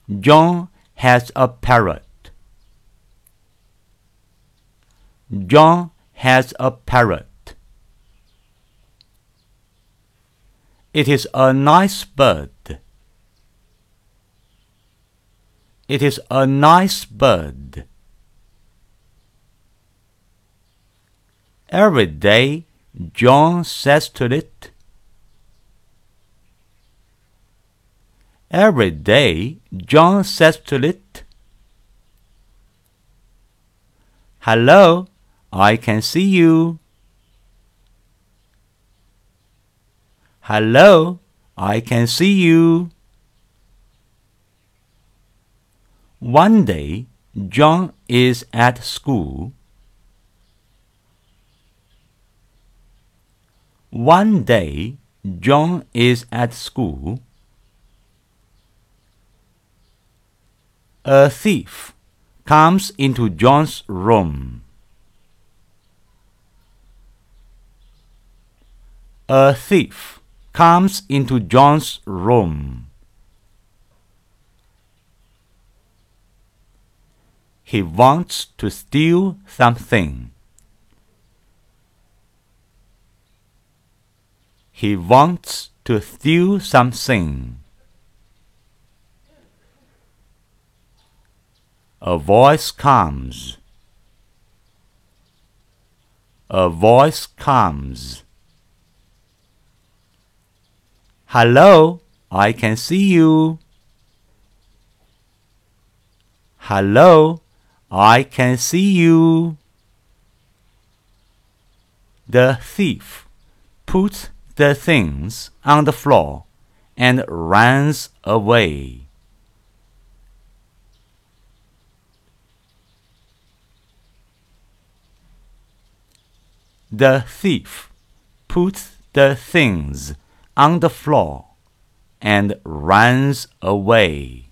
John has a parrot. John has a parrot. It is a nice bird. It is a nice bird. Every day, John says to it. Every day, John says to it, "Hello, I can see you." Hello, I can see you. One day, John is at school. One day, John is at school. A thief comes into John's room. A thief comes into John's room. He wants to steal something. He wants to steal something. A voice comes. A voice comes. Hello, I can see you. Hello, I can see you. The thief puts the things on the floor and runs away. The thief puts the things on the floor and runs away.